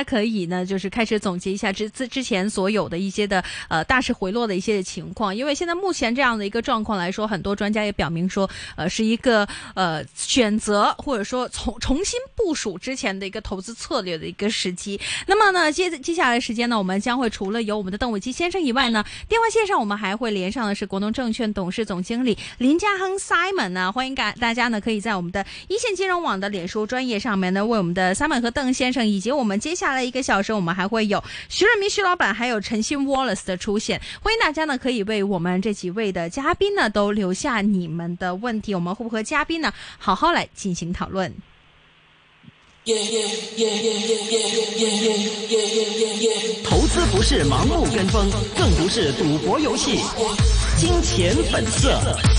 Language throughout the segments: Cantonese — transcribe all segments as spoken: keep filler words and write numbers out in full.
家可以呢，就是開始總結一下之之之前所有的一些的呃大市回落的一些情況。因為現在目前這樣的一個狀況來說，很多專家也表明說，呃，是一個呃選擇或者說重重新部署之前的一個投資策略的一個時機。那麼呢，接接下來的時間呢，我們將會除了有我們的鄧偉基先生以外呢，電話線上我們還會連上的是國農證券董事總經理林家亨 Simon 呢，歡迎大大家呢可以在我們的一線金融網的臉書專頁上面呢，為我們的 Simon 和鄧先生以及我們接下來一個小時，我們還會有徐潤民徐老闆還有陳鑫 Wallace 的出現。歡迎大家呢可以為我們這幾位的嘉賓呢都留下你們的問題，我們會不會和嘉賓呢好好來進行討論。 投資不是盲目跟風，更不是賭博遊戲。金錢本色。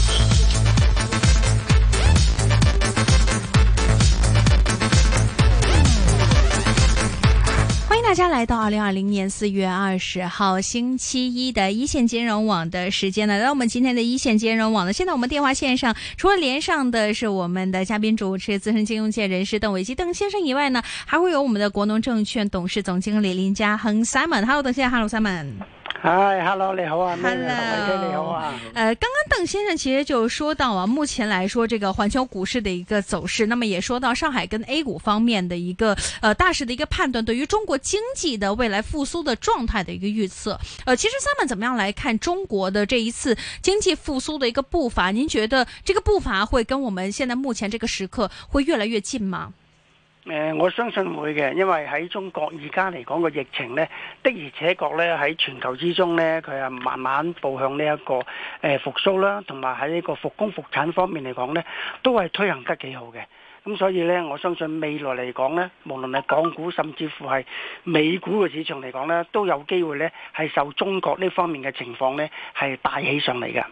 歡迎大家來到二零二零年四月二十號星期一的一線金融網的時間呢，來到我們今天的一線金融網呢，現在我們電話線上除了連上的是我們的嘉賓主持資深金融界人士鄧偉基鄧先生以外呢，還會有我們的國農證券董事總經理林家亨 Simon。Hello， 鄧先生 ，Hello Simon。 嗨 ，Hello， 你好啊 ，Hello， 你好啊。 呃，剛剛鄧先生其實就說到啊，目前來說這個環球股市的一個走勢，那麼也說到上海跟 A 股方面的一個呃大勢的一個判斷，對於中國經濟的未來復甦的狀態的一個預測。呃，其實 Simon 怎麼樣來看中國的這一次經濟復甦的一個步伐？您覺得這個步伐會跟我們現在目前這個時刻會越來越近嗎？ 誒、呃，我相信會嘅，因為喺中國而家嚟講個疫情呢，的而且確呢喺全球之中呢，佢係慢慢步向呢、這、一個誒、呃、復甦啦，同埋喺呢個復工復產方面嚟講呢，都係推行得幾好嘅。咁所以呢，我相信未來嚟講呢，無論係港股甚至乎係美股嘅市場嚟講呢，都有機會呢係受中國呢方面嘅情況呢係帶起上嚟嘅。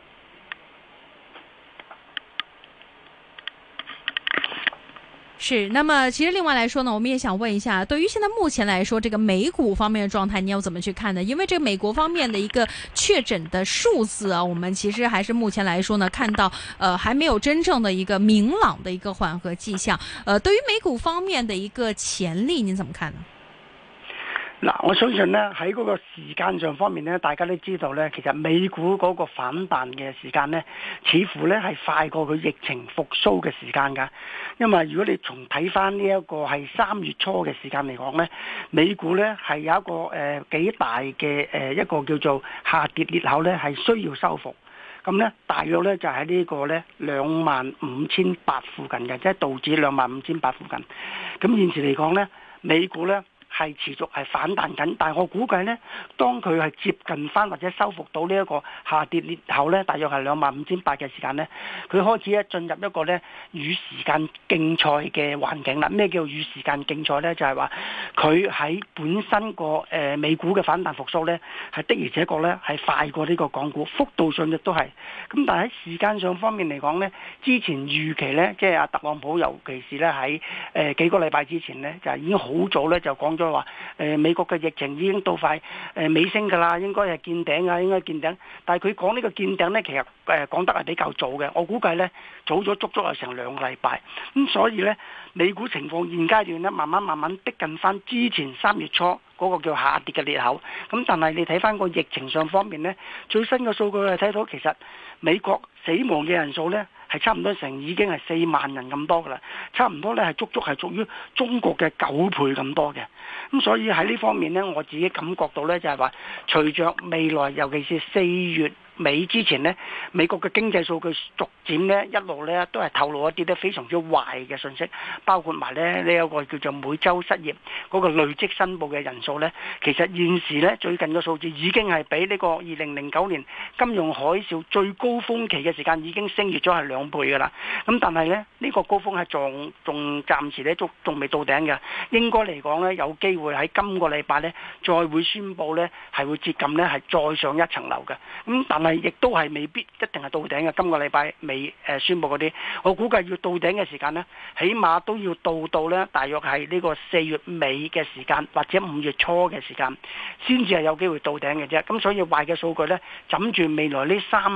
是，那麼其實另外來說呢，我們也想問一下，對於現在目前來說，這個美股方面的狀態，你要怎麼去看呢？因為這個美國方面的一個確診的數字啊，我們其實還是目前來說呢，看到呃還沒有真正的一個明朗的一個緩和跡象。呃，對於美股方面的一個潛力，您怎麼看呢？ 嗱，我相信呢，喺嗰個時間上方面呢，大家都知道呢，其實美股嗰個反彈嘅時間呢，似乎呢係快過佢疫情復甦嘅時間㗎。因為如果你從睇翻呢一個係三月初嘅時間嚟講呢，美股呢係有一個誒、呃、幾大嘅誒、呃、一個叫做下跌裂口呢係需要收復。咁呢，大約呢就喺呢個呢兩萬五千八附近嘅，即係道指兩萬五千八附近。咁現時嚟講呢，美股呢係持續係反彈緊，但係我估計呢，當佢係接近翻或者收復到呢一個下跌裂口呢，大約係兩萬五千八嘅時間呢，佢開始咧進入一個呢與時間競賽嘅環境啦。咩叫與時間競賽呢？就係話佢喺本身個誒、呃、美股嘅反彈復甦呢，係的而且確呢係快過呢個港股，幅度上亦都係。咁但係喺時間上方面嚟講呢，之前預期呢，即係阿特朗普，尤其是呢喺誒、呃、幾個禮拜之前呢，就已經好早呢就講咗話誒美國嘅疫情已經到快誒尾聲㗎啦，應該係見頂啊，應該見頂。但係佢講呢個見頂呢，其實誒講得係比較早嘅，我估計呢，早咗足足係成兩個禮拜。咁所以呢，美股情況現階段呢，慢慢慢慢逼近翻之前三月初嗰個叫下跌嘅裂口。咁但係你睇翻個疫情上方面呢，最新嘅數據係睇到其實美國死亡嘅人數呢，係差唔多成已經係四萬人咁多噶啦，差唔多咧係足足係屬於中國嘅九倍咁多嘅。咁所以喺呢方面呢，我自己感覺到呢，就係話，隨着未來尤其是四月尾之前呢，美國嘅經濟數據逐漸呢一路呢都係透露一啲咧非常之壞嘅信息，包括埋咧呢一個叫做每週失業嗰個累積申報嘅人數呢，其實現時呢最近嘅數字已經係比呢個二零零九年金融海嘯最高峰期嘅時間已經升越咗係兩倍噶啦。咁但係呢，呢個高峰係仲仲暫時呢仲仲未到頂嘅，應該嚟講呢，有機會喺今個禮拜呢再會宣佈呢係會接近呢係再上一層樓嘅。咁但係亦都係未必一定係到頂嘅。今個禮拜未誒宣佈嗰啲，我估計要到頂嘅時間呢，起碼都要到到呢大約係呢個四月尾嘅時間或者五月初嘅時間，先至係有機會到頂嘅啫。咁所以壞嘅數據呢，枕住未來呢三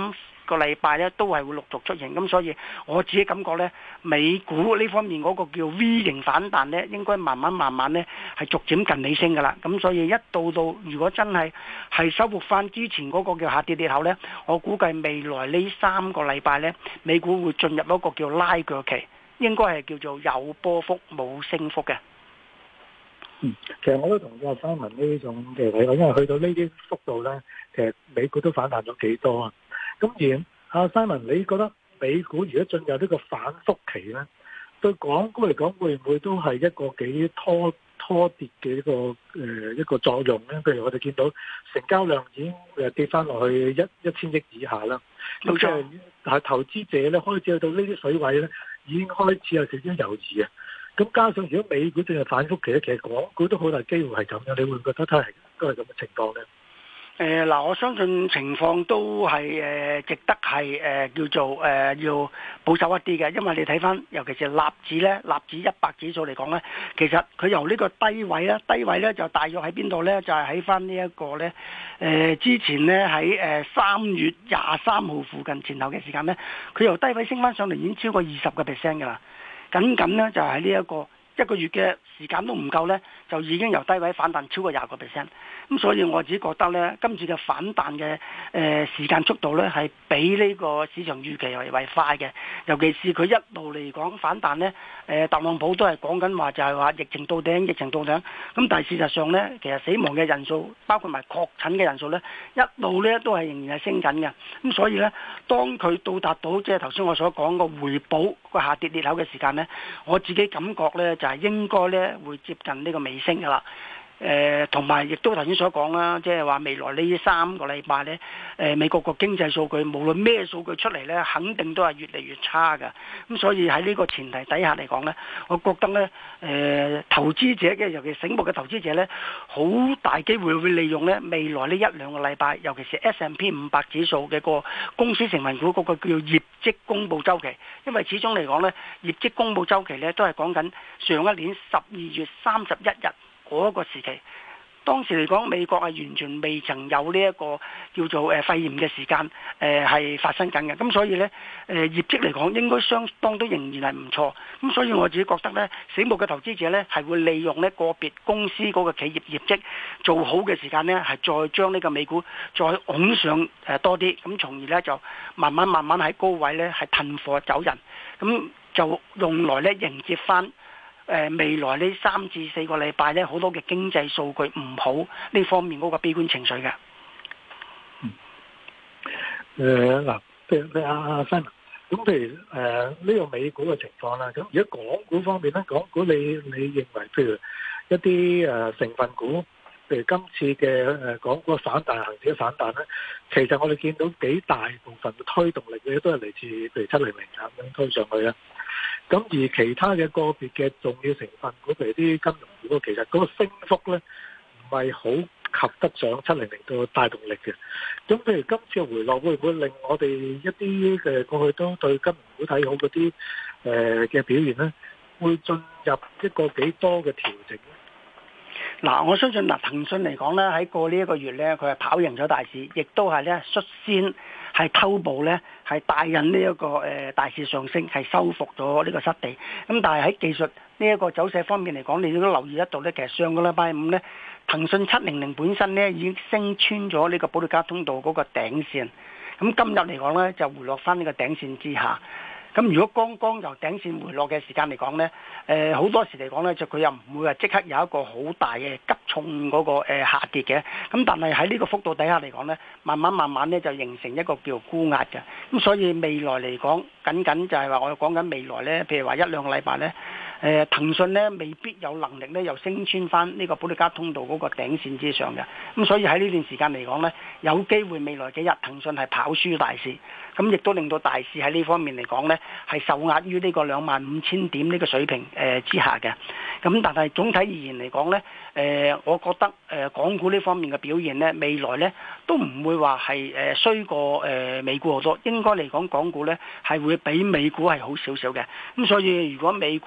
個禮拜咧都係會陸續出現。咁所以我自己感覺咧，美股呢方面嗰個叫 V 型反彈咧，應該慢慢慢慢咧係逐漸近尾聲噶啦。咁所以一到到如果真係係收復翻之前嗰個叫下跌裂口咧，我估計未來呢三個禮拜咧，美股會進入一個叫拉鋸期，應該係叫做有波幅冇升幅嘅。 嗯，其實我都同意阿 Simon 呢種嘅睇法，因為去到呢啲幅度咧，其實美股都反彈咗幾多啊。咁而阿 Simon，你覺得美股如果進入呢個反覆期咧，對港股嚟講會唔會都係一個幾拖拖跌嘅一個誒、呃、一個作用咧？譬如我哋見到成交量已經誒跌翻落去一一千億以下啦，咁即係係投資者咧開始去到呢啲水位咧，已經開始有少少猶豫啊。咁加上如果美股進入反覆期咧，其實港股都好大機會係咁樣，你會唔會覺得都係都係咁嘅情況咧？ 誒嗱、呃，我相信情況都係誒、呃、值得係誒、呃、叫做誒、呃、要保守一啲嘅，因為你睇翻，尤其是納指咧，納指一百指數嚟講咧，其實佢由呢個低位咧，低位咧就大約喺邊度咧？就係喺翻呢一個咧誒、呃、之前咧喺誒三月廿三號附近前後嘅時間咧，佢由低位升翻上嚟已經超過二十個 percent 㗎啦。僅僅咧就係呢一個一個月嘅時間都唔夠咧，就已經由低位反彈超過廿個 percent。咁所以我自己覺得咧，今次嘅反彈嘅誒、呃、時間速度咧係比呢個市場預期為為快嘅。尤其是佢一路嚟講反彈咧，誒、呃、特朗普都係講緊話就係話疫情到頂，疫情到頂。咁但係事實上咧，其實死亡嘅人數包括埋確診嘅人數咧，一路咧都係仍然係升緊嘅。咁所以咧，當佢到達到即係頭先我所講個回補個下跌裂口嘅時間咧，我自己感覺咧就係、是、應該咧會接近呢個尾聲㗎啦。誒同埋亦都頭先所講啦，即係話未來呢三個禮拜呢，誒、呃、美國個經濟數據無論咩數據出嚟呢，肯定都係越嚟越差㗎。咁所以喺呢個前提底下嚟講呢，我覺得呢，誒、呃、投資者嘅尤其醒目嘅投資者呢，好大機會會利用呢未來呢一兩個禮拜，尤其是 S and P 五百指數嘅個公司成分股嗰個叫做業績公佈週期，因為始終嚟講呢，業績公佈週期呢都係講緊上一年十二月三十一日。嗰個時期，當時嚟講，美國係完全未曾有呢一個叫做誒肺炎嘅時間，誒、呃、係發生緊嘅。咁所以呢，誒、呃、業績嚟講應該相當都仍然係唔錯。咁所以我自己覺得呢，醒目嘅投資者呢係會利用呢個別公司嗰個企業業績做好嘅時間呢，係再將呢個美股再拱上誒多啲，咁從而呢，就慢慢慢慢喺高位呢係褪貨走人，咁就用來呢迎接翻。誒、呃、未來呢三至四個禮拜呢，好多嘅經濟數據唔好呢方面嗰個悲觀情緒嘅。 嗯。誒嗱、呃，譬如阿阿 Simon，咁譬如誒呢、呃這個美股嘅情況啦，咁如果港股方面咧，港股你你認為譬如一啲誒、呃、成分股，譬如今次嘅誒、呃、港股反彈、恒指嘅反彈咧，其實我哋見到幾大部分嘅推動力嘅都係嚟自譬如七零零啊咁樣推上去啊。咁而其他嘅個別嘅重要成分股，譬如啲金融股，其實嗰個升幅咧唔係好及得上七零零個帶動力嘅。咁譬如今次嘅回落，會唔會令我哋一啲嘅過去都對金融股睇好嗰啲誒嘅表現咧，會進入一個幾多嘅調整咧？ 嗱，我相信嗱，騰訊嚟講咧，喺過呢一個月咧，佢係跑贏咗大市，亦都係咧率先係偷步咧，係帶引呢一個誒大市上升，係收復咗呢個失地。咁但係喺技術呢一個走勢方面嚟講，你都留意得到咧，其實上個禮拜五咧，騰訊七零零本身咧已經升穿咗呢個保利加通道嗰個頂線。咁今日嚟講咧，就回落翻呢個頂線之下。咁如果剛剛由頂線回落嘅時間嚟講呢，誒、呃、好多時嚟講呢，就佢又唔會話即刻有一個好大嘅急重嗰、那個、呃、下跌嘅。咁但係喺呢個幅度底下嚟講呢，慢慢慢慢呢就形成一個叫沽壓嘅。咁所以未來嚟講，僅僅就係話我講緊未來呢，譬如話一兩個禮拜呢，誒、呃、騰訊呢未必有能力呢又升穿翻呢個保利加通道嗰個頂線之上嘅。咁所以喺呢段時間嚟講呢，有機會未來幾日騰訊係跑輸大市。咁亦都令到大市喺呢方面嚟講呢，係受壓於呢個兩萬五千點呢個水平誒之下嘅。咁但係總體而言嚟講呢，誒我覺得誒港股呢方面嘅表現呢，未來呢都唔會話係誒衰過誒美股好多。應該嚟講，港股呢係會比美股係好少少嘅。咁所以如果美股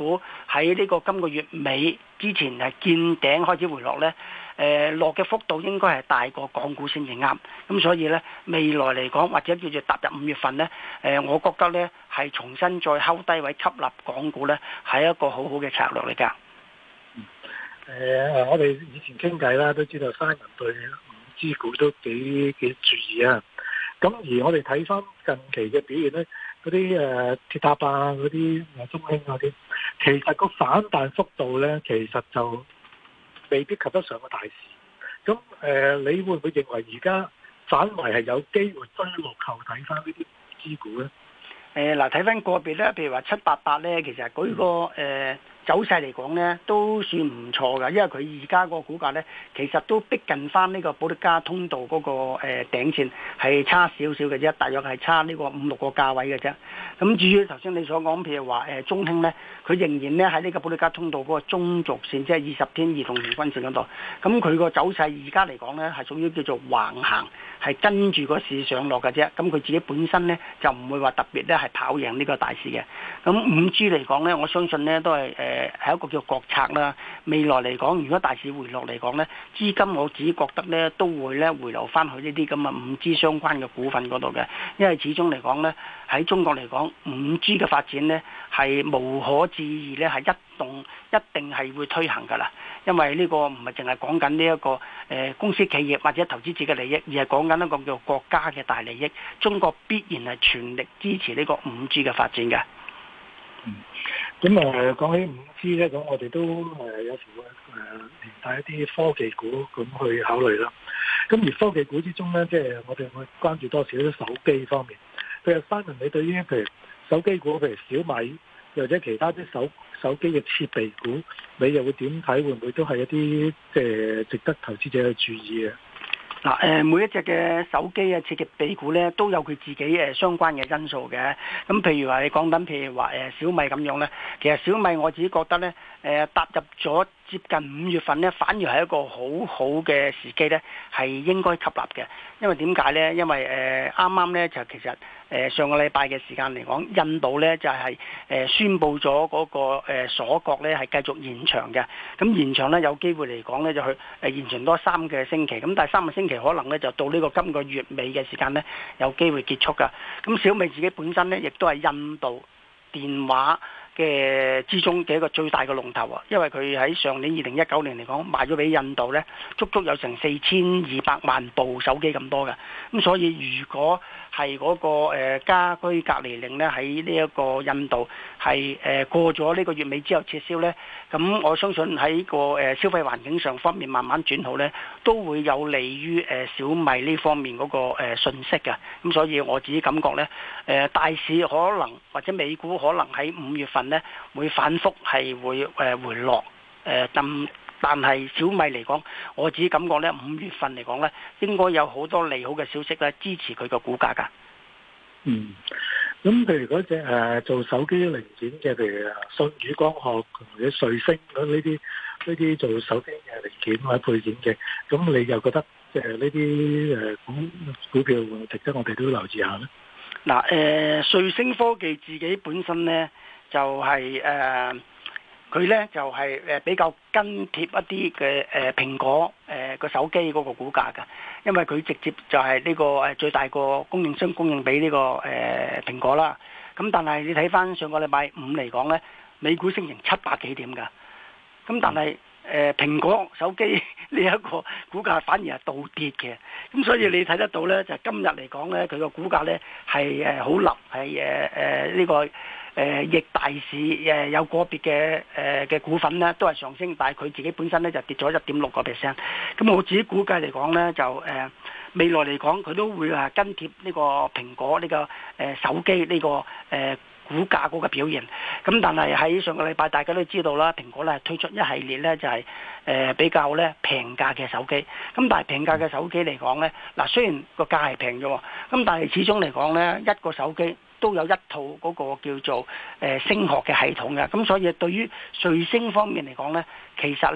喺呢個今個月尾之前係見頂開始回落呢，誒落嘅幅度應該係大過港股先至啱。咁所以呢，未來嚟講或者叫做踏入五月份呢，誒我覺得呢係重新再睺低位吸納港股呢，係一個好好嘅策略嚟㗎。 誒、呃，我哋以前傾偈啦，都知道 Simon 對五 G 股都幾幾注意啊。咁而我哋睇翻近期嘅表現咧，嗰啲誒鐵塔啊，嗰啲誒中興嗰啲，其實個反彈幅度咧，其實就未必及得上個大市。咁誒、呃，你會唔會認為而家反為係有機會追落後睇翻呢啲 五 G 股咧？ 誒嗱，睇翻個別咧，譬如話七八八咧，其實嗰、嗰個誒。呃走勢嚟講呢都算唔錯㗎，因為佢而家個股價呢，其實都逼近翻呢個保力加通道嗰個誒頂線，係差少少嘅啫，大約係差呢個五六個價位嘅啫。咁至於頭先你所講，譬如話誒中興呢，佢仍然呢喺呢個保力加通道嗰個中軸線，即係二十天移動平均線嗰度。咁佢個走勢而家嚟講呢，係屬於叫做橫行，係跟住個市上落嘅啫。咁佢自己本身呢，就唔會話特別呢係跑贏呢個大市嘅。咁五 G 嚟講呢，我相信呢都係誒。呃係一個叫國策啦。未來嚟講，如果大市回落嚟講呢，資金我自己覺得呢都會呢回流翻去呢啲咁嘅五 G 相關嘅股份嗰度嘅，因為始終嚟講呢，喺中國嚟講，五 G 嘅發展呢係無可置疑呢係一動一定係會推行㗎啦。因為呢個唔係淨係講緊呢一個誒、呃、公司企業或者投資者嘅利益，而係講緊一個叫國家嘅大利益。中國必然係全力支持呢個五 G 嘅發展嘅。 嗯，咁誒講起五 G 咧，咁我哋都誒有時會誒連帶一啲科技股咁去考慮啦。咁而科技股之中咧，即係我哋會關注多少啲手機方面。譬如Simon，你對於譬如手機股，譬如小米或者其他啲手手機嘅設備股，你又會點睇？會唔會都係一啲即係值得投資者去注意嘅？ 嗱，誒每一隻嘅手機啊、設備股咧，都有佢自己誒相關嘅因素嘅。咁譬如話你講緊，譬如話誒小米咁樣咧，其實小米我自己覺得咧，誒踏入咗接近五月份咧，反而係一個好好嘅時機咧，係應該吸納嘅。因為點解咧？因為誒啱啱咧就其實誒上個禮拜嘅時間嚟講，印度咧就係誒宣布咗嗰個誒鎖國咧係繼續延長嘅。咁延長咧有機會嚟講咧就去誒延長多三個星期。咁但係三個星期可能咧就到呢個今個月尾嘅時間咧有機會結束㗎。咁小米自己本身咧亦都係印度電話嘅之中嘅一個最大嘅龍頭啊，因為佢喺上年二零一九年嚟講賣咗俾印度咧，足足有成四千二百萬部手機咁多嘅。咁所以如果係嗰個誒家居隔離令咧喺呢一個印度係誒過咗呢個月尾之後撤銷咧，咁我相信喺個誒消費環境上方面慢慢轉好咧，都會有利於誒小米呢方面嗰個誒信息嘅。咁所以我自己感覺咧，誒大市可能或者美股可能喺五月份咧會反覆係會誒回落誒，但但係小米嚟講，我自己感覺咧五月份嚟講咧，應該有好多利好嘅消息咧支持佢個股價㗎。 嗯，咁譬如嗰隻誒做手機零件嘅，譬如舜宇光學或者瑞聲嗰呢啲呢啲做手機嘅零件或者配件嘅，咁你又覺得即係呢啲誒股股票值得我哋都留意下咧？ 嗱，誒瑞聲科技自己本身咧就係誒佢咧就係誒比較跟貼一啲嘅誒蘋果誒個手機嗰個股價㗎，因為佢直接就係呢個誒最大個供應商供應俾呢個誒蘋果啦。咁但係你睇翻上個禮拜五嚟講咧，美股升成七百幾點㗎。咁但係誒蘋果手機呢一個股價反而係倒跌嘅。咁所以你睇得到咧，就今日嚟講咧，佢個股價咧係誒好立，係誒誒呢個。誒逆大市誒有個別嘅誒嘅股份咧都係上升，但係佢自己本身咧就跌咗一點六個 percent。咁我自己估計嚟講咧，就誒、呃、未來嚟講佢都會係跟貼呢個蘋果呢、這個誒、呃、手機呢、這個誒、呃、股價嗰個表現。咁但係喺上個禮拜大家都知道啦，蘋果咧推出一系列咧就係、是、誒、呃、比較咧平價嘅手機。咁但係平價嘅手機嚟講咧，嗱雖然個價係平咗，咁但係始終嚟講咧一個手機都有一套嗰個叫做誒聲學嘅系統嘅，咁所以對於瑞聲方面嚟講呢，其實呢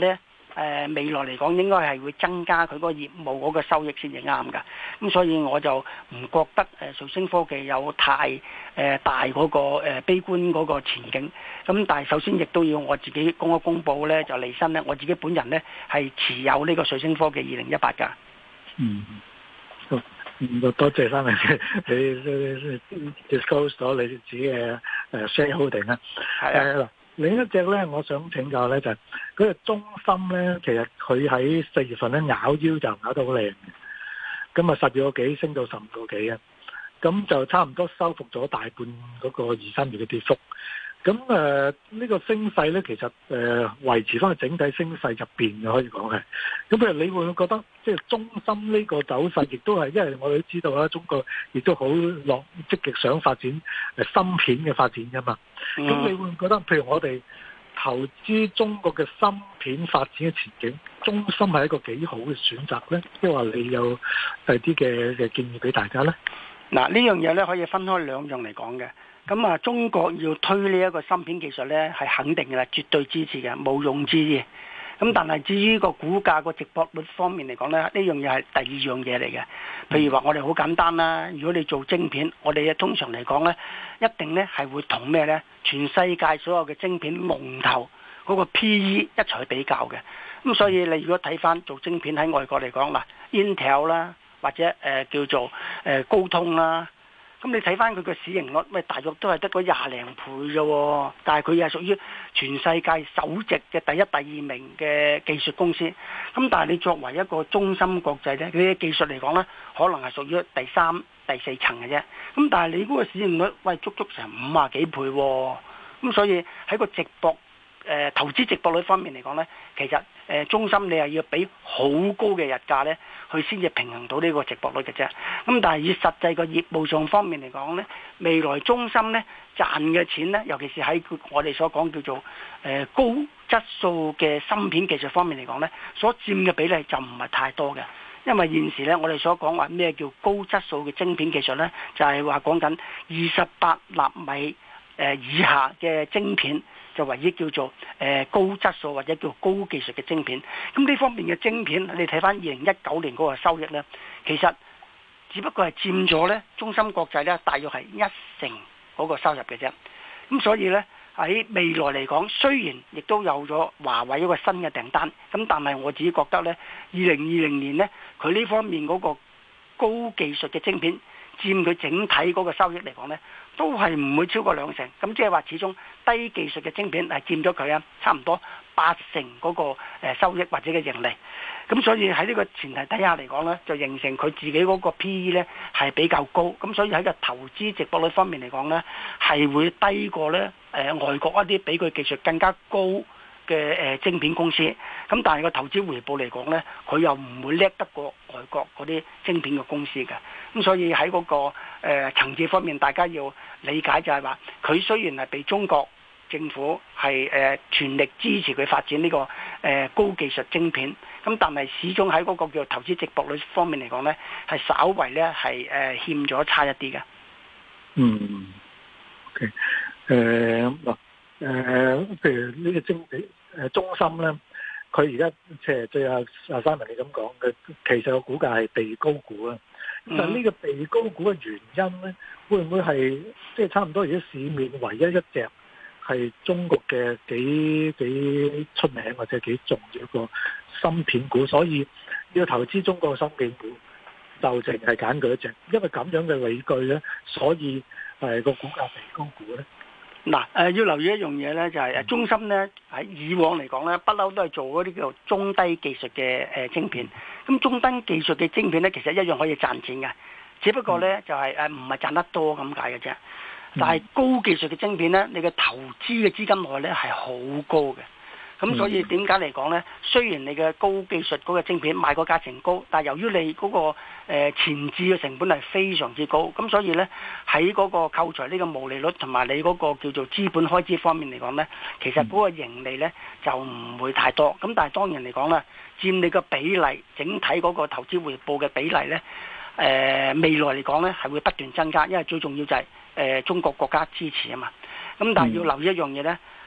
呃、未來嚟講應該係會增加佢嗰個業務嗰個收益先至啱㗎。咁所以我就唔覺得誒、呃、瑞聲科技有太誒、呃、大嗰、那個、呃、悲觀嗰個前景。咁但係首先亦都要我自己公一公佈咧，就離身咧，我自己本人咧係持有呢個瑞聲科技二零一八㗎。 嗯。多謝翻你，你 disclose 咗你自己嘅誒 shareholding 啦。係啊。嗱，另一隻咧，我想請教咧就係嗰隻中芯咧，其實佢喺四月份咧咬腰就咬得好靚嘅，咁啊十二個幾升到十五個幾啊，咁就差唔多收復咗大半嗰個二三月嘅跌幅。咁誒呢個升勢咧，其實誒、呃、維持翻個整體升勢入邊嘅，可以講係。咁譬如你會唔會覺得，即係中芯呢個走勢，亦都係因為我哋都知道啦，中國亦都好落積極想發展誒芯片嘅發展㗎嘛。咁、嗯、你會唔會覺得，譬如我哋投資中國嘅芯片發展嘅前景，中芯係一個幾好嘅選擇咧？即係話你有第啲嘅嘅建議俾大家咧？ 嗱，呢樣嘢咧可以分開兩樣嚟講嘅。咁啊，中國要推呢一個芯片技術呢，係肯定嘅啦，絕對支持嘅，毋庸置疑。咁但係至於個股價個值博率方面嚟講呢，呢樣嘢係第二樣嘢嚟嘅。譬如話我哋好簡單啦，如果你做晶片，我哋通常嚟講呢，一定呢係會同咩呢？全世界所有嘅晶片龍頭嗰個 P E 一齊去比較嘅。咁所以你如果睇翻做晶片喺外國嚟講嗱 Intel 啦，或者誒、呃、叫做誒、呃、高通啦。咁你睇翻佢嘅市盈率，喂，大約都係得嗰廿零倍啫，但係佢又係屬於全世界首席嘅第一、第二名嘅技術公司。咁但係你作為一個中芯國際呢，佢嘅技術嚟講呢，可能係屬於第三、第四層嘅啫。咁但係你嗰個市盈率，喂，足足成五啊幾倍喎。咁所以喺個直博誒、呃、投資直博率方面嚟講呢，其實誒、呃、中芯你係要俾好高嘅日價呢，佢先至平衡到呢個直博率嘅啫。咁但係以實際個業務上方面嚟講呢，未來中芯呢賺嘅錢呢，尤其是喺我哋所講叫做誒、呃、高質素嘅芯片技術方面嚟講呢，所佔嘅比例就唔係太多嘅。因為現時呢，我哋所講話咩叫高質素嘅晶片技術呢，就係話講緊二十八納米誒以下嘅晶片。就唯一叫做誒、呃、高質素或者叫高技術嘅晶片，咁呢方面嘅晶片，你睇翻二零一九年嗰個收益呢，其實只不過係佔咗呢中芯國際呢大約係一成嗰個收入嘅啫。咁所以呢，喺未來嚟講，雖然亦都有咗華為一個新嘅訂單，咁但係我自己覺得呢，二零二零年呢，佢呢方面嗰個高技術嘅晶片佔佢整體嗰個收益嚟講呢，都係唔會超過兩成，咁即係話始終低技術嘅晶片係佔咗佢啊，差唔多八成嗰個誒收益或者嘅盈利。咁所以喺呢個前提底下嚟講呢，就形成佢自己嗰個 P E 呢係比較高，咁所以喺個投資值博率方面嚟講呢，係會低過呢誒、呃、外國一啲比佢技術更加高嘅誒晶片公司。咁但係個投資回報嚟講呢，佢又唔會叻得過外國嗰啲晶片嘅公司嘅。咁所以喺嗰、那個誒、呃、層次方面，大家要理解就係話，佢雖然係被中國政府係誒、呃、全力支持佢發展呢、這個誒、呃、高技術晶片，咁但係始終喺嗰個叫投資值博率方面嚟講呢，係稍為呢係誒、呃、欠咗差一啲嘅。 嗯，OK，誒嗱誒，譬如呢個晶片誒中芯咧，佢而家即係對阿阿三文你咁講嘅，其實個股價係被高估啊。咁但係呢個被高估嘅原因咧，會唔會係即係差唔多而家市面唯一一隻係中國嘅幾幾出名或者幾重要一個芯片股，所以要投資中國嘅芯片股就淨係揀佢一隻，因為咁樣嘅理據咧，所以係個股價被高估咧。 嗱，誒要留意一樣嘢咧，就係誒中芯咧喺以往嚟講咧，不嬲都係做嗰啲叫做中低技術嘅誒晶片。咁中低技術嘅晶片咧，其實一樣可以賺錢嘅，只不過咧就係誒唔係賺得多咁解嘅啫。但係高技術嘅晶片咧，你嘅投資嘅資金內咧係好高嘅。咁所以點解嚟講呢？雖然你嘅高技術嗰個晶片賣個價錢高，但係由於你嗰、那個誒、呃、前置嘅成本係非常之高，咁所以呢，喺嗰個扣除呢個毛利率同埋你嗰個叫做資本開支方面嚟講呢，其實嗰個盈利呢就唔會太多。咁但係當然嚟講呢，佔你個比例整體嗰個投資回報嘅比例呢，誒、呃、未來嚟講呢係會不斷增加，因為最重要就係、是、誒、呃、中國國家支持啊嘛。咁但係要留意一樣嘢呢。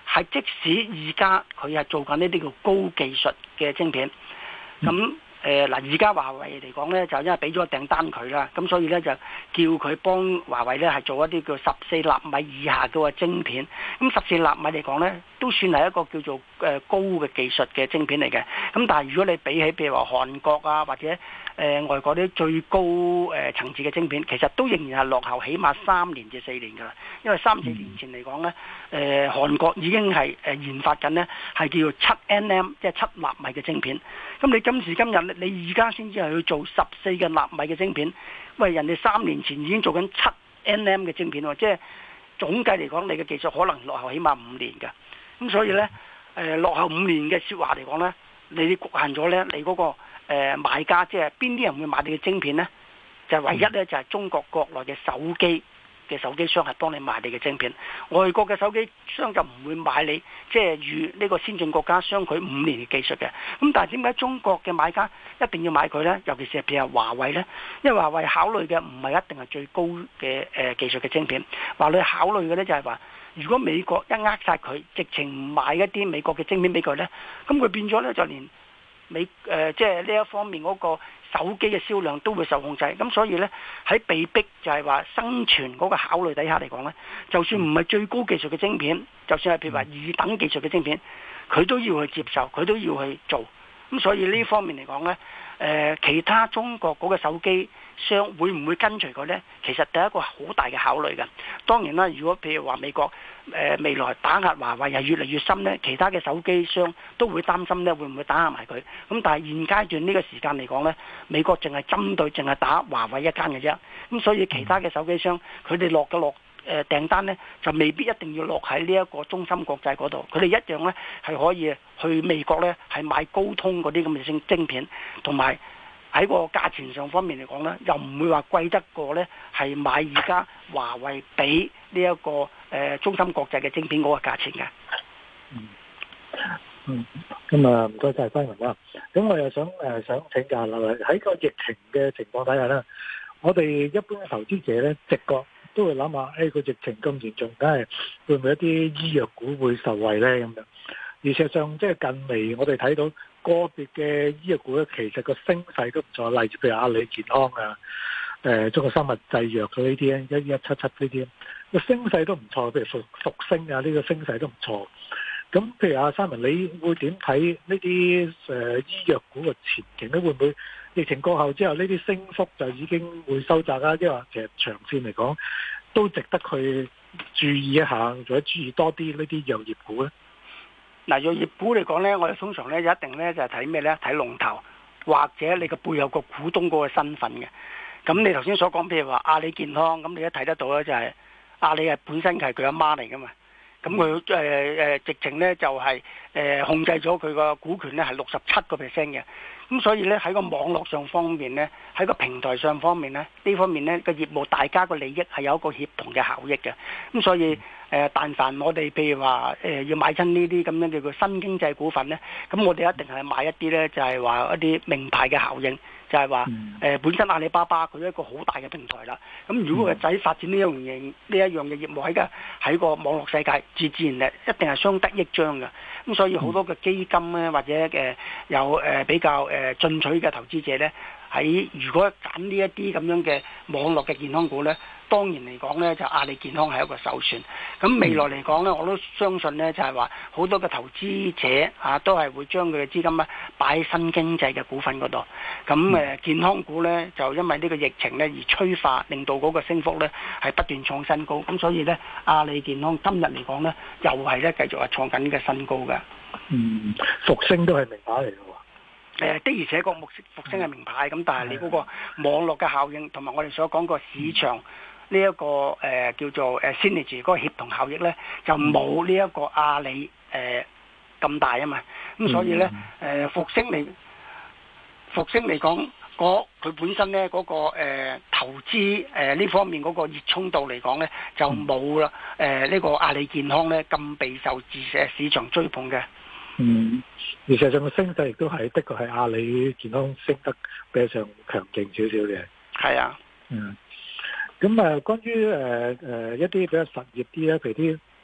係即使而家佢係做緊呢啲叫高技術嘅晶片，咁、嗯。誒嗱，而家華為嚟講咧，就因為俾咗個訂單佢啦，咁所以咧就叫佢幫華為咧係做一啲叫十四納米以下嘅晶片。咁十四納米嚟講咧，都算係一個叫做誒高嘅技術嘅晶片嚟嘅。咁但係如果你比起譬如話韓國啊，或者誒、呃、外國啲最高誒、呃、層次嘅晶片，其實都仍然係落後，起碼三年至四年㗎啦。因為三四年前嚟講咧，誒、呃、韓國已經係誒研發緊咧，係叫做七 N M， 即係七納米嘅晶片。咁你今時今日你而家先至係去做十四嘅納米嘅晶片，喂，人哋三年前已經做緊七 N M 嘅晶片喎，即係總計嚟講，你嘅技術可能落後起碼五年㗎。咁所以呢，誒、呃、落後五年嘅説話嚟講呢，你局限咗呢，你嗰、那個誒、呃、買家，即係邊啲人會買你嘅晶片呢？就係、唯一呢，就係、是、中國國內嘅手機嘅手機商係幫你賣你嘅晶片，外國嘅手機商就唔會買你，即係與呢個先進國家相距五年嘅技術嘅。咁但係點解中國嘅買家一定要買佢呢？尤其是譬如華為呢，因為華為考慮嘅唔係一定係最高嘅誒技術嘅晶片，華為考慮嘅呢就係話，如果美國一扼殺佢，直情唔買一啲美國嘅晶片俾佢呢，咁佢變咗呢，就連美誒、呃、即係呢一方面嗰個手機嘅銷量都會受控制，咁所以呢，喺被逼就係話生存嗰個考慮底下嚟講呢，就算唔係最高技術嘅晶片，就算係譬如話二等技術嘅晶片，佢都要去接受，佢都要去做。咁所以呢方面嚟講呢，誒、呃、其他中國嗰個手機商會唔會跟隨佢呢？其實第一個好大嘅考慮嘅。當然啦，如果譬如話美國誒、呃、未來打壓華為係越嚟越深呢，其他嘅手機商都會擔心呢會唔會打壓埋佢。咁但係現階段呢個時間嚟講呢，美國淨係針對淨係打華為一間嘅啫。咁所以其他嘅手機商佢哋落嘅落誒訂單呢，就未必一定要落喺呢一個中芯國際嗰度，佢哋一樣呢係可以去美國呢係買高通嗰啲咁嘅晶晶片，同埋喺個價錢上方面嚟講呢，又唔會話貴得過呢係買而家華為俾呢一個誒、呃、中芯國際嘅晶片嗰個價錢嘅。 嗯嗯，咁啊唔該晒輝文啦。咁我又想誒、呃、想請教啦，喺個疫情嘅情況底下呢，我哋一般嘅投資者呢，直覺都會諗下，誒、哎、個疫情咁嚴重，梗係會唔會一啲醫藥股會受惠呢？咁樣？而事實上，即係近嚟我哋睇到個別嘅醫藥股咧，其實個升勢都唔錯，例如譬如阿里健康啊、誒、呃、中國生物製藥嗰呢啲咧，一一七七呢啲，個升勢都唔錯。譬如復復星啊，呢、這個升勢都唔錯。咁譬如阿三文，你會點睇呢啲誒醫藥股嘅前景咧？會唔會疫情過後之後，呢啲升幅就已經會收窄啦？因為其實長線嚟講，都值得去注意一下，或者注意多啲呢啲藥業股咧。 嗱，藥業股嚟講呢，我哋通常呢一定呢就係睇咩呢？睇龍頭，或者你個背後個股東嗰個身份嘅。咁你頭先所講，譬如話阿里健康，咁你一睇得到呢，就係阿里係本身係佢阿媽嚟噶嘛。咁佢誒誒直情呢就係、是、誒、呃、控制咗佢個股權呢係六十七個 percent 嘅。咁所以呢，喺個網絡上方面呢，喺個平台上方面呢，呢方面呢個業務大家個利益係有一個協同嘅效益嘅。咁所以誒、呃，但凡我哋譬如話誒、呃、要買親呢啲咁樣叫做新經濟股份呢，咁我哋一定係買一啲呢，就係、是、話一啲名牌嘅效應。就係話誒本身阿里巴巴佢一個好大嘅平台啦，咁如果個仔發展呢一樣嘢呢一樣嘅業務喺個喺個網絡世界，自自然咧一定係相得益彰嘅。咁所以好多嘅基金咧或者誒有誒比較誒進取嘅投資者咧，喺如果揀呢一啲咁樣嘅網絡嘅健康股咧，當然嚟講咧就阿里健康係一個首選。咁未來嚟講咧，我都相信咧就係話好多嘅投資者啊都係會將佢嘅資金咧擺喺新經濟嘅股份嗰度。咁誒健康股咧就因為呢個疫情咧而催化，令到嗰個升幅咧係不斷創新高。咁所以咧阿里健康今日嚟講咧又係咧繼續係創緊嘅新高嘅。 嗯，復星都係名牌嚟嘅喎。 誒的而且確，復復星係名牌，咁但係你嗰個網絡嘅效應同埋我哋所講個市場呢一個誒、呃、叫做誒 synergy 嗰個協同效益咧，就冇呢一個阿里誒咁、呃、大啊嘛。咁所以咧誒復星嚟復星嚟講，嗰佢本身咧嗰、那個、呃、投資誒呢、呃、方面嗰個熱衷度嚟講咧，就冇啦誒呢個阿里健康咧咁備受自社市場追捧嘅。 嗯，而實際上個升勢亦都係的確係阿里健康升得比較上強勁少少嘅。 係啊， 嗯，咁啊，關於誒誒一啲比較實業啲咧，譬如啲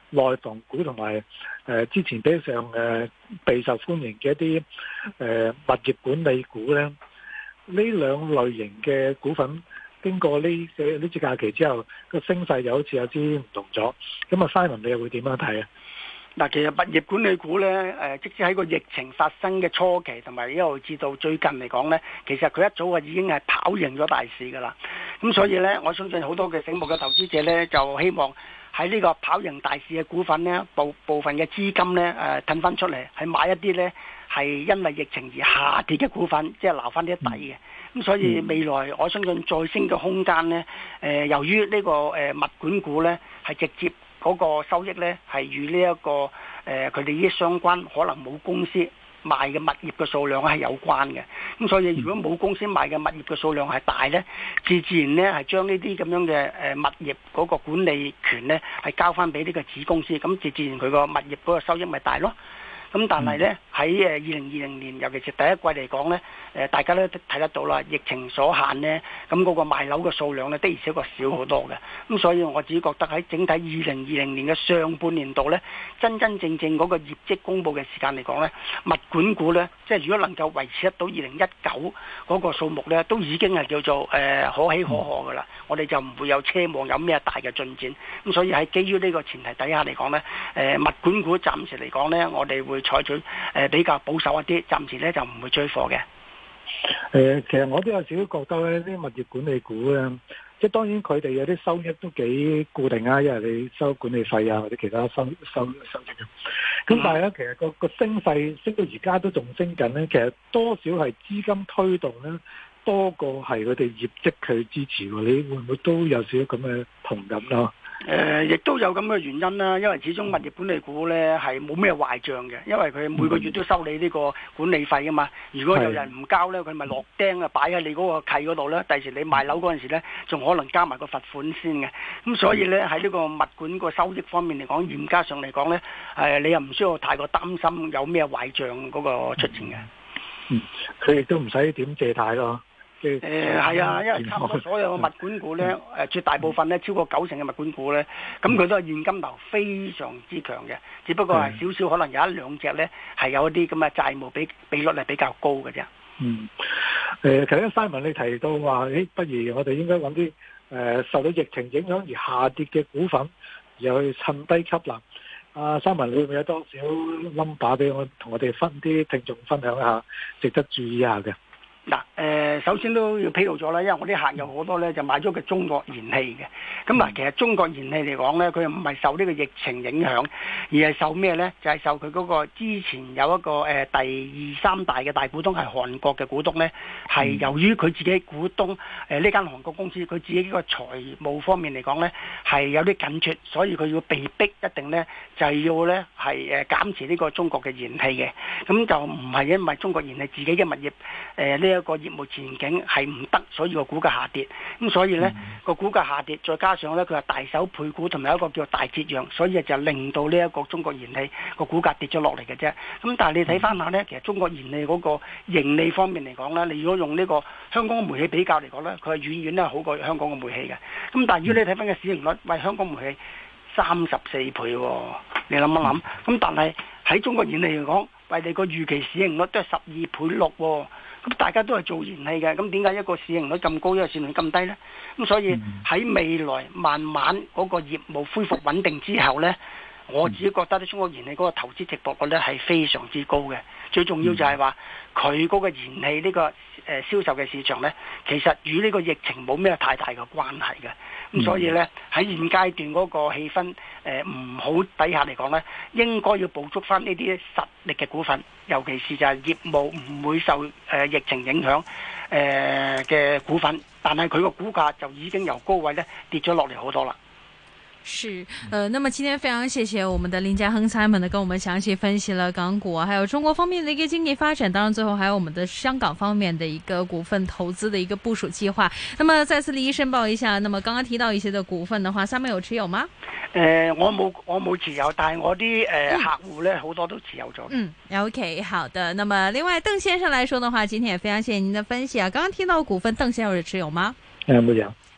內房股同埋誒之前比上誒、呃、備受歡迎嘅一啲誒、呃、物業管理股咧，呢兩類型嘅股份經過呢嘅呢次假期之後，個升勢又好似有啲唔同咗。咁啊，Simon 你又會點樣睇啊？ 嗱，其實物業管理股咧，誒，即使喺個疫情發生嘅初期，同埋一路至到最近嚟講咧，其實佢一早啊已經係跑贏咗大市噶啦。咁所以咧，我相信好多嘅醒目嘅投資者咧，就希望喺呢個跑贏大市嘅股份咧，部部分嘅資金咧，誒，褪翻出嚟，係買一啲咧係因為疫情而下跌嘅股份，即係撈翻啲底嘅。咁所以未來我相信再升嘅空間咧，誒，由於呢個誒物管股咧係直接嗰個收益呢係與呢一個誒佢哋呢啲相關，可能冇公司賣嘅物業嘅數量係有關嘅。咁所以如果冇公司賣嘅物業嘅數量係大呢，自自然呢係將呢啲咁樣嘅誒物業嗰個管理權呢係交翻俾呢個子公司，咁自自然佢個物業嗰個收益咪大咯。咁但係呢，喺誒二零二零年，尤其是第一季嚟講呢，誒大家都睇得到啦，疫情所限呢，咁嗰個賣樓嘅數量呢，的而且確少好多嘅。咁所以我自己覺得喺整體二零二零年嘅上半年度呢，真真正正嗰個業績公佈嘅時間嚟講呢，物管股呢，即係如果能夠維持得到二零一九嗰個數目呢，都已經係叫做誒、呃、可喜可賀噶啦。我哋就唔會有奢望有咩大嘅進展。咁所以喺基於呢個前提底下嚟講呢，誒、呃、物管股暫時嚟講呢，我哋會採取誒比較保守一啲，暫時咧就唔會追貨嘅。誒、 呃，其實我都有少少覺得咧，啲物業管理股咧，即係當然佢哋有啲收益都幾固定啊，因為你收管理費啊或者其他收收收益。咁但係咧，其實個個升勢升到而家都仲升緊咧，其實多少係資金推動咧，多過係佢哋業績去支持。你會唔會都有少少咁嘅同感咯？ 誒、呃，亦都有咁嘅原因啦，因為始終物業管理股呢係冇咩壞賬嘅，因為佢每個月都收你呢個管理費噶嘛。如果有人唔交呢，佢咪落釘啊，擺喺你嗰個契嗰度呢。第時你賣樓嗰陣時呢，仲可能加埋個罰款先嘅。咁所以呢，喺呢個物管個收益方面嚟講，嚴格上嚟講呢，誒、呃，你又唔需要太過擔心有咩壞賬嗰個出現嘅。 嗯，佢亦都唔使點借貸咯。誒係啊，因為差唔多所有嘅物管股咧，誒、嗯、絕大部分咧超過九成嘅物管股咧，咁佢都係現金流非常之強嘅，只不過係少少可能有一兩隻咧係有一啲咁嘅債務比比率係比較高嘅啫。嗯， 誒頭先 Simon 你提到話，誒不如我哋應該揾啲誒受到疫情影響而下跌嘅股份，然後去趁低吸納。阿 Simon 你會唔會有多少 number 俾我同我哋分啲聽眾分享一下，值得注意一下嘅？ 嗱，誒，首先都要披露咗啦，因為我啲客有好多咧就買咗個中國燃氣嘅，咁嗱，其實中國燃氣嚟講咧，佢唔係受呢個疫情影響，而係受咩咧？就係、是、受佢嗰個之前有一個誒、呃、第二三大嘅大股東係韓國嘅股東咧，係由於佢自己股東誒呢、呃、間韓國公司佢自己呢個財務方面嚟講咧係有啲緊缺，所以佢要被逼一定咧就係要咧係誒減持呢個中國嘅燃氣嘅，咁就唔係因為中國燃氣自己嘅物業誒呢一個業務前景係唔得，所以個股價下跌。咁所以呢個、嗯、股價下跌，再加上呢，佢係大手配股同埋一個叫大折讓，所以就令到呢一個中國燃氣個股價跌咗落嚟嘅啫。咁但係你睇翻下呢，其實中國燃氣嗰個盈利方面嚟講呢，你如果用呢個香港嘅煤氣比較嚟講呢，佢係遠遠咧好過香港嘅煤氣嘅。咁但係如果你睇翻個市盈率，喂，香港煤氣三十四倍喎、哦，你諗一諗。咁、嗯、但係喺中國燃氣嚟講，喂，你個預期市盈率都係十二倍六喎。咁大家都係做燃氣嘅，咁點解一個市盈率咁高，一個市盈率咁低呢？咁所以喺未來慢慢嗰個業務恢復穩定之後呢，我自己覺得咧，中國燃氣嗰個投資值博率咧係非常之高嘅。最重要就係話佢嗰個燃氣呢個誒銷售嘅市場呢，其實與呢個疫情冇咩太大嘅關係嘅。咁所以呢，喺現階段嗰個氣氛誒唔好底下嚟講呢，應該要捕捉翻呢啲實力嘅股份，尤其是就係業務唔會受誒、呃、疫情影響誒嘅、呃、股份，但係佢個股價就已經由高位呢跌咗落嚟好多啦。 是，呃，那麼今天非常謝謝我們的林家亨 Simon 呢，跟我們詳細分析了港股啊，還有中國方面的一個經濟發展，當然最後還有我們的香港方面的一個股份投資的一個部署計劃。那麼再次利益申報一下，那麼剛剛提到一些的股份的話，Simon有持有嗎？ 誒、呃，我冇我冇持有，但係我啲誒、呃嗯、客戶呢，好多都持有咗。 嗯 ，OK， 好的。那麼另外鄧先生來說的話，今天也非常謝謝您的分析啊。剛剛提到股份，鄧先生有持有嗎？ 誒、嗯，冇有。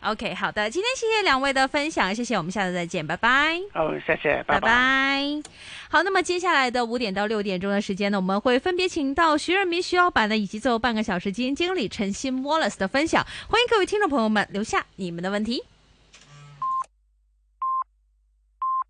OK， 好的，今天謝謝兩位的分享，謝謝，我們下次再見，拜拜。 好，謝謝，拜拜。 拜拜。好，那麼接下來的五點到六點鐘的時間呢，我們會分別請到徐潤民徐老闆呢，以及最後半個小時基金經理陳昕 Wallace 的分享。歡迎各位聽眾朋友們留下你們的問題。